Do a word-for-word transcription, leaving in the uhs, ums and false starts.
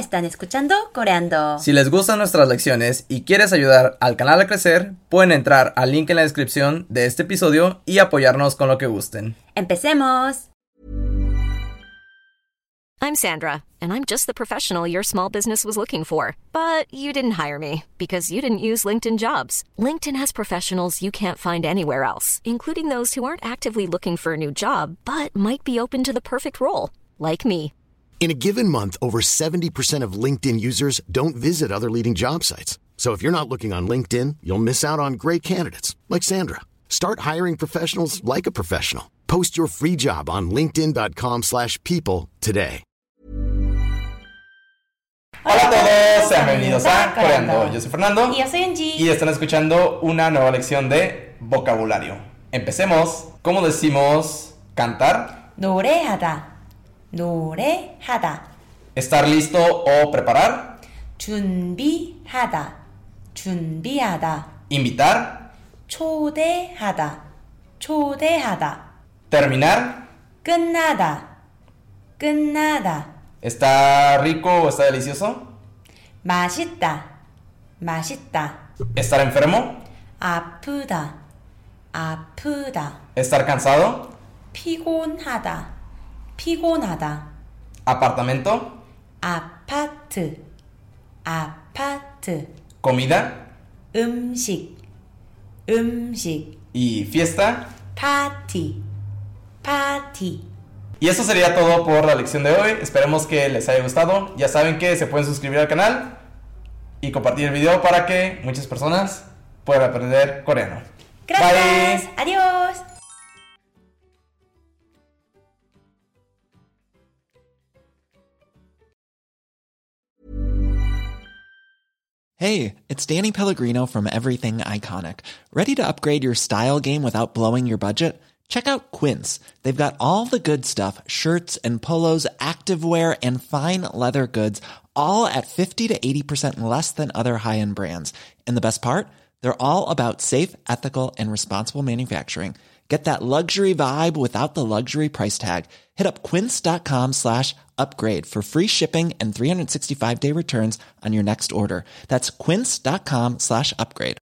están escuchando Coreando. Si les gustan nuestras lecciones y quieres ayudar al canal a crecer, pueden entrar al link en la descripción de este episodio y apoyarnos con lo que gusten. ¡Empecemos! I'm Sandra, and I'm just the professional your small business was looking for. But you didn't hire me because you didn't use LinkedIn Jobs. LinkedIn has professionals you can't find anywhere else, including those who aren't actively looking for a new job, but might be open to the perfect role, like me. In a given month, over seventy percent of LinkedIn users don't visit other leading job sites. So if you're not looking on LinkedIn, you'll miss out on great candidates like Sandra. Start hiring professionals like a professional. Post your free job on linkedin.com slash people today. Hola a todos, sean bienvenidos a Coreando. Yo soy Fernando. Y yo soy Angie. Y están escuchando una nueva lección de vocabulario. Empecemos. ¿Cómo decimos cantar? 노래하다. 노래하다. Estar listo o preparar. 준비하다. 준비하다. Invitar. 초대하다. 초대하다. Terminar. 끝나다. 끝나다. ¿Está rico o está delicioso? 맛있다. 맛있다. ¿Estar enfermo? 아프다. 아프다. ¿Estar cansado? 피곤하다. 피곤하다. ¿Apartamento? 아파트. 아파트. ¿Comida? 음식. 음식. ¿Y fiesta? 파티. 파티. Y eso sería todo por la lección de hoy. Esperemos que les haya gustado. Ya saben que se pueden suscribir al canal y compartir el video para que muchas personas puedan aprender coreano. Gracias. Bye. Adiós. Hey, it's Danny Pellegrino from Everything Iconic. Ready to upgrade your style game without blowing your budget? Check out Quince. They've got all the good stuff, shirts and polos, activewear, and fine leather goods, all at fifty to eighty percent less than other high-end brands. And the best part? They're all about safe, ethical, and responsible manufacturing. Get that luxury vibe without the luxury price tag. Hit up quince.com slash upgrade for free shipping and three sixty-five day returns on your next order. That's quince.com slash upgrade.